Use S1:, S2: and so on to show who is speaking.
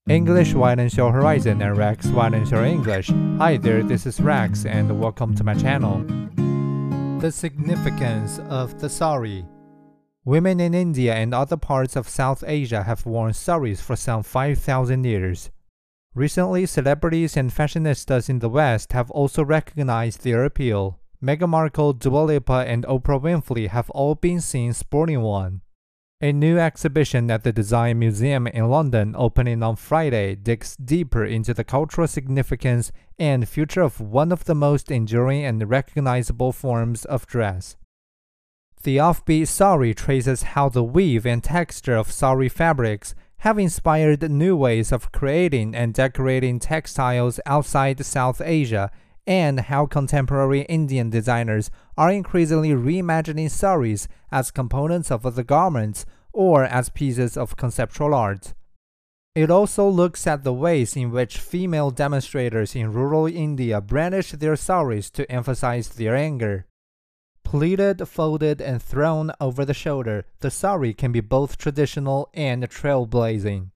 S1: English widens your horizon and Rex widens your English. Hi there, this is Rex and welcome to my channel. The significance of the sari. Women in India and other parts of South Asia have worn saris for some 5,000 years. Recently, celebrities and fashionistas in the West have also recognized their appeal. Meghan Markle, Dua Lipa, and Oprah Winfrey have all been seen sporting one. A new exhibition at the Design Museum in London opening on Friday digs deeper into the cultural significance and future of one of the most enduring and recognizable forms of dress. The offbeat sari traces how the weave and texture of sari fabrics have inspired new ways of creating and decorating textiles outside South Asia, and how contemporary Indian designers are increasingly reimagining saris as components of the garments or as pieces of conceptual art. It also looks at the ways in which female demonstrators in rural India brandish their saris to emphasize their anger. Pleated, folded, and thrown over the shoulder, the sari can be both traditional and trailblazing.